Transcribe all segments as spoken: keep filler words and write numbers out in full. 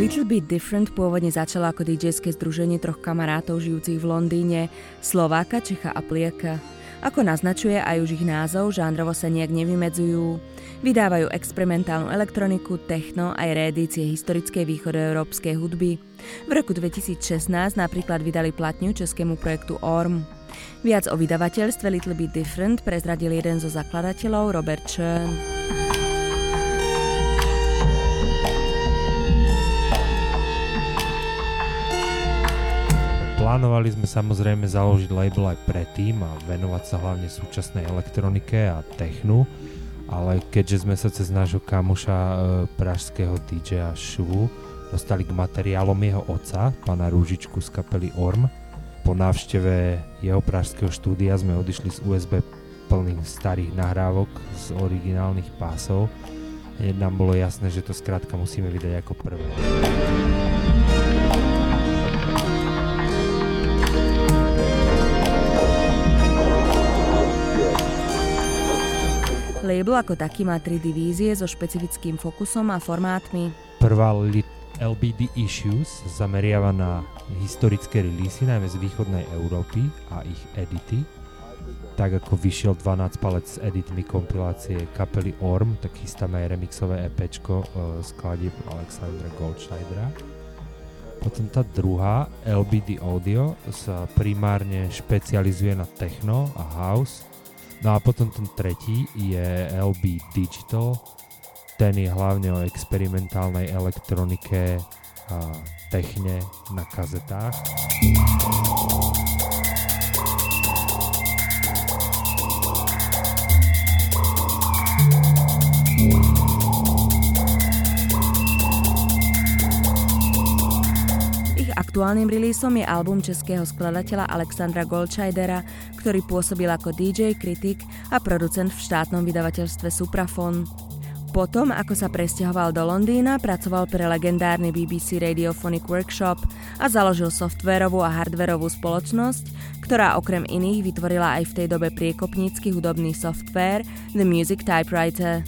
Little Bit Different pôvodne začalo ako dýdžejské združenie troch kamarátov žijúcich v Londýne, Slováka, Čecha a Poliaka. Ako naznačuje aj už ich názov, žánrovo sa nejak nevymedzujú. Vydávajú experimentálnu elektroniku, techno aj reedície historickej východoeurópskej hudby. V roku dvetisícšestnásť napríklad vydali platňu českému projektu Orm. Viac o vydavateľstve Little Bit Different prezradil jeden zo zakladateľov, Robert Churn. Plánovali sme samozrejme založiť label aj predtým a venovať sa hlavne súčasnej elektronike a technu, ale keďže sme sa cez nášho kamoša e, pražského dý džeja Šuvu dostali k materiálom jeho otca, pána Rúžičku z kapely Orm, po návšteve jeho pražského štúdia sme odišli z ú es bé plných starých nahrávok z originálnych pásov. Hneď nám bolo jasné, že to skrátka musíme vydať ako prvé. Label ako taký má tri divízie so špecifickým fokusom a formátmi. Prvá el bí dé Issues zameriava na historické releasy, najmä z východnej Európy a ich edity. Tak ako vyšiel dvanásť palec s editmi kompilácie kapely Orm, tak chystáme aj remixové EPčko uh, skladieb Alexandra Goldschneidera. Potom tá druhá, el bí dé Audio, sa primárne špecializuje na techno a house. No a potom ten tretí je el bí Digital, ten je hlavne o experimentálnej elektronike a techne na kazetách. Aktuálnym releaseom je album českého skladateľa Alexandra Goldschneidera, ktorý pôsobil ako dý džej, kritik a producent v štátnom vydavateľstve Supraphon. Potom, ako sa presťahoval do Londýna, pracoval pre legendárny bé bé cé Radiophonic Workshop a založil softvérovú a hardvérovú spoločnosť, ktorá okrem iných vytvorila aj v tej dobe priekopnícky hudobný softvér The Music Typewriter.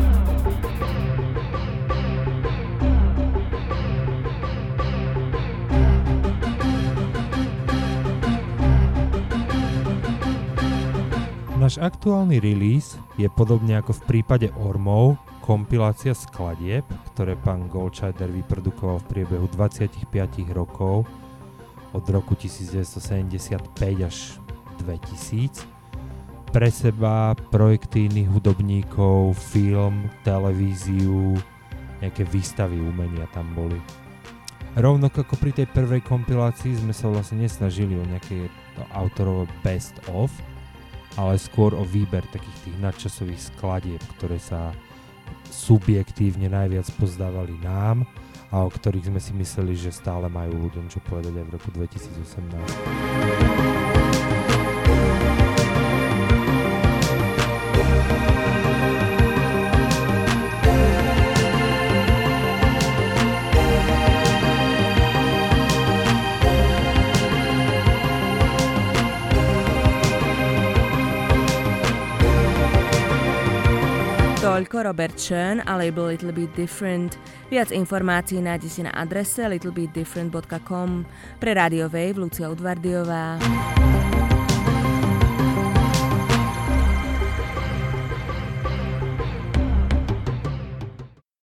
Náš aktuálny release je podobne ako v prípade Ormov kompilácia skladieb, ktoré pán Goldschneider vyprodukoval v priebehu dvadsaťpäť rokov od roku devätnásťstosedemdesiatpäť až dvetisíc. Pre seba, projekty iných hudobníkov, film, televíziu, nejaké výstavy umenia tam boli. Rovnako ako pri tej prvej kompilácii sme sa vlastne nesnažili o nejaké autorové best of, ale skôr o výber takých tých nadčasových skladieb, ktoré sa subjektívne najviac pozdávali nám a o ktorých sme si mysleli, že stále majú ľuďom čo povedať aj v roku dvetisícosemnásť. Toľko Robert Churn a label Little Bit Different. Viac informácií nájdete na adrese little bit different dot com. Pre Radio Wave Lucia Udvardiová.